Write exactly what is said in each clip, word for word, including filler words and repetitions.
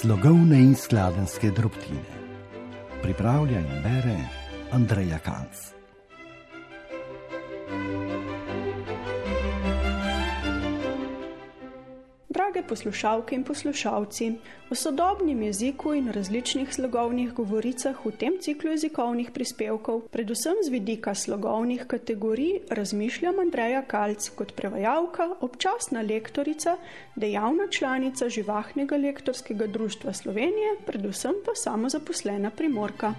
Slogovne in skladenjske drobtine. Pripravlja in bere Andreja Kals. Drage poslušalke in poslušalci, o sodobnem jeziku in različnih slogovnih govoricah v tem ciklu jezikovnih prispevkov, predvsem z vidika slogovnih kategorij, razmišljam Andreja Kals kot prevajalka, občasna lektorica, dejavna članica Živahnega lektorskega društva Slovenije, predvsem pa samozaposlena Primorka.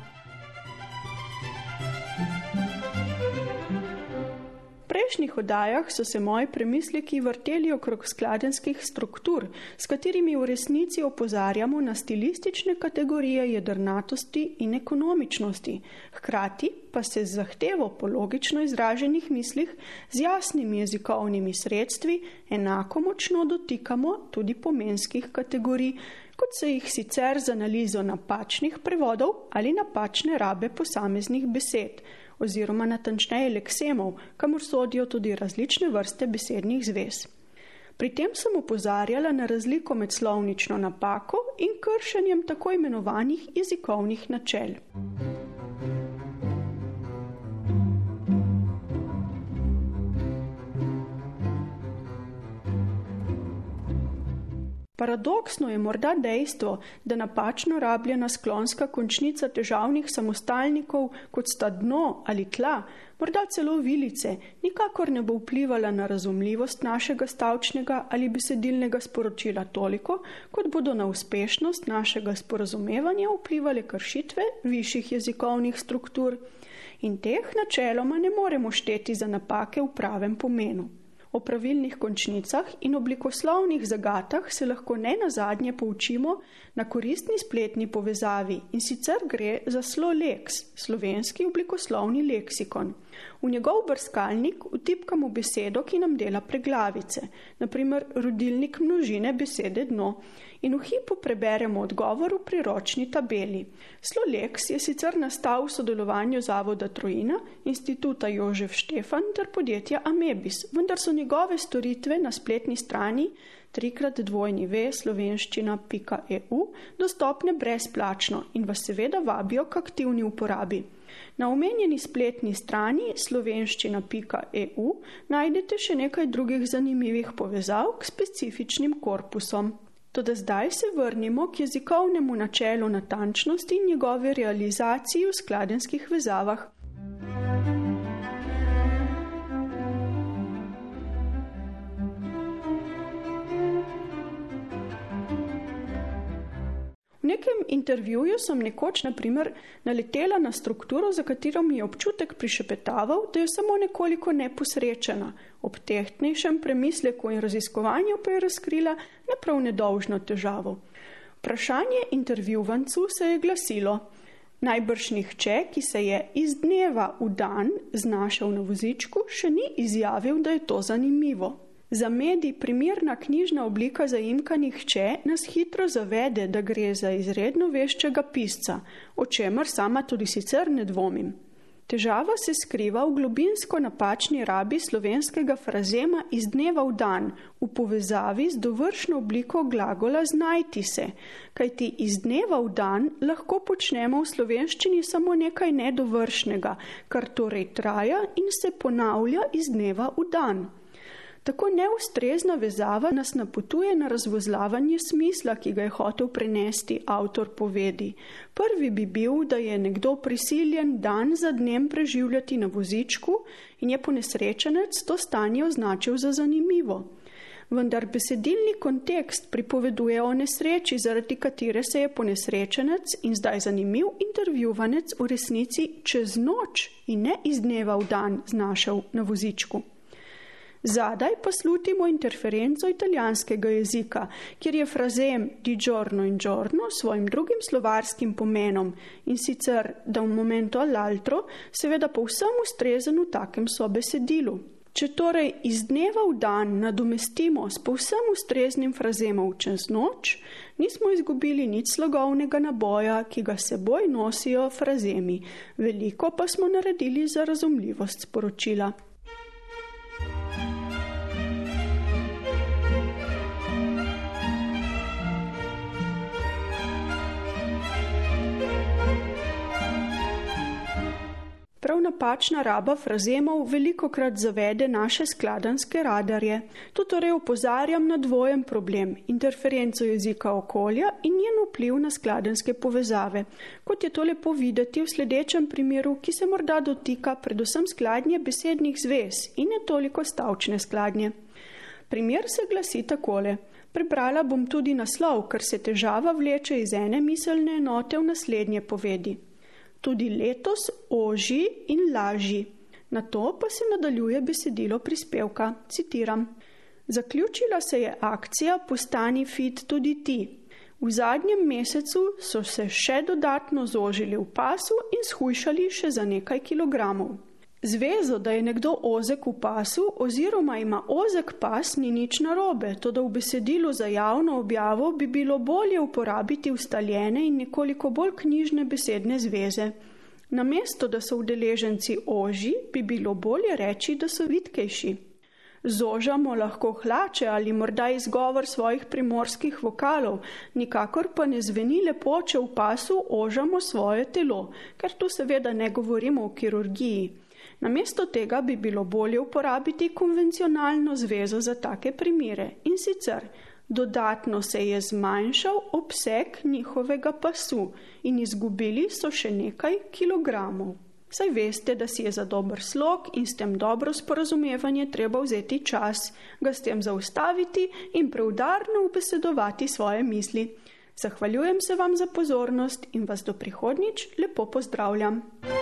V prejšnjih oddajah so se moji premisleki vrteli okrog skladenjskih struktur, s katerimi v resnici opozarjamo na stilistične kategorije jedrnatosti in ekonomičnosti, hkrati pa se z zahtevo po logično izraženih mislih z jasnimi jezikovnimi sredstvi enako močno dotikamo tudi pomenskih kategorij, kot se jih sicer z analizo napačnih prevodov ali napačne rabe posameznih besed, oziroma natančneje leksemov, kamor sodijo tudi različne vrste besednih zvez. Pri tem sem opozarjala na razliko med slovnično napako in kršenjem tako imenovanih jezikovnih načel. Paradoksno je morda dejstvo, da napačno rabljena sklonska končnica težavnih samostalnikov, kot sta dno ali tla, morda celo vilice, nikakor ne bo vplivala na razumljivost našega stavčnega ali besedilnega sporočila toliko, kot bodo na uspešnost našega sporazumevanja vplivale kršitve višjih jezikovnih struktur. In teh načeloma ne moremo šteti za napake v pravem pomenu. O pravilnih končnicah in oblikoslovnih zagatah se lahko ne nazadnje poučimo na koristni spletni povezavi, in sicer gre za Sloleks, slovenski oblikoslovni leksikon. V njegov brskalnik vtipkamo besedo, ki nam dela preglavice, na primer rodilnik množine besede dno, in v hipu preberemo odgovor v priročni tabeli. Sloleks je sicer nastal v sodelovanju Zavoda Trojina, Instituta Jožef Štefan ter podjetja Amebis, vendar so njegove storitve na spletni strani trikrat dvojni ve slovenščina pika e u dostopne brezplačno in vas seveda vabijo k aktivni uporabi. Na omenjeni spletni strani slovenščina pika e u najdete še nekaj drugih zanimivih povezav k specifičnim korpusom. Toda zdaj se vrnimo k jezikovnemu načelu natančnosti in njegove realizaciji v skladenjskih vezavah. V nekem intervjuju sem nekoč, na primer, naletela na strukturo, za katero mi je občutek prišepetaval, da je samo nekoliko neposrečena. Ob tehtnejšem premisleku in raziskovanju pa je razkrila ne prav nedolžno težavo. Vprašanje intervjuvancu se je glasilo: najbrž nihče, ki se je iz dneva v dan znašel na vozičku, še ni izjavil, da je to zanimivo. Za medij primerna knjižna oblika zaimka nihče nas hitro zavede, da gre za izredno veščega pisca, o čemer sama tudi sicer ne dvomim. Težava se skriva v globinsko napačni rabi slovenskega frazema iz dneva v dan, v povezavi z dovršno obliko glagola znajti se, kajti iz dneva v dan lahko počnemo v slovenščini samo nekaj nedovršnega, kar torej traja in se ponavlja iz dneva v dan. Tako neustrezna vezava nas napotuje na razvozlavanje smisla, ki ga je hotel prenesti avtor povedi. Prvi bi bil, da je nekdo prisiljen dan za dnem preživljati na vozičku in je ponesrečenec to stanje označil za zanimivo. Vendar besedilni kontekst pripoveduje o nesreči, zaradi katere se je ponesrečenec in zdaj zanimiv intervjuvanec v resnici čez noč in ne iz dneva v dan znašel na vozičku. Zadaj pa slutimo interferenco italijanskega jezika, kjer je frazem di giorno in giorno svojim drugim slovarskim pomenom, in sicer da v momento all'altro seveda povsem ustrezen v takem sobesedilu. Če torej iz dneva v dan nadomestimo s povsem ustreznim frazemom čez noč, nismo izgubili nič slogovnega naboja, ki ga seboj nosijo frazemi. Veliko pa smo naredili za razumljivost sporočila. napačna raba frazemov velikokrat zavede naše skladanske radarje. Tu torej opozarjam na dvojen problem, interferenco jezika okolja in njen vpliv na skladanske povezave, kot je to lepo videti v sledečem primeru, ki se morda dotika predvsem skladnje besednih zvez in ne toliko stavčne skladnje. Primer se glasi takole. Prebrala bom tudi naslov, ker se težava vleče iz ene miselne enote v naslednje povedi. Tudi letos oži in laži. Na to pa se nadaljuje besedilo prispevka. Citiram. Zaključila se je akcija Postani fit tudi ti. V zadnjem mesecu so se še dodatno zožili v pasu in shujšali še za nekaj kilogramov. Zvezo, da je nekdo ozek v pasu oziroma ima ozek pas, ni nič narobe, toda v besedilu za javno objavo bi bilo bolje uporabiti ustaljene in nekoliko bolj knjižne besedne zveze. Namesto, da so udeleženci oži, bi bilo bolje reči, da so vitkejši. Zožamo lahko hlače ali morda izgovor svojih primorskih vokalov, nikakor pa ne zveni lepo, če v pasu ožamo svoje telo, ker tu seveda ne govorimo o kirurgiji. Namesto tega bi bilo bolje uporabiti konvencionalno zvezo za take primere in sicer dodatno se je zmanjšal obseg njihovega pasu in izgubili so še nekaj kilogramov. Saj veste, da si je za dober slog in s tem dobro sporazumevanje treba vzeti čas, ga s tem zaustaviti in preudarno ubesedovati svoje misli. Zahvaljujem se vam za pozornost in vas do prihodnjič lepo pozdravljam.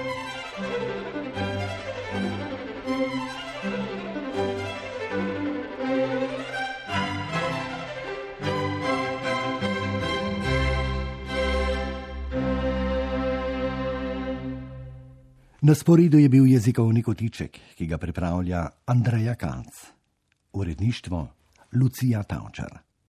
Na sporedu je bil jezikovni kotiček, ki ga pripravlja Andreja Kalc. Uredništvo Lucija Tavčar.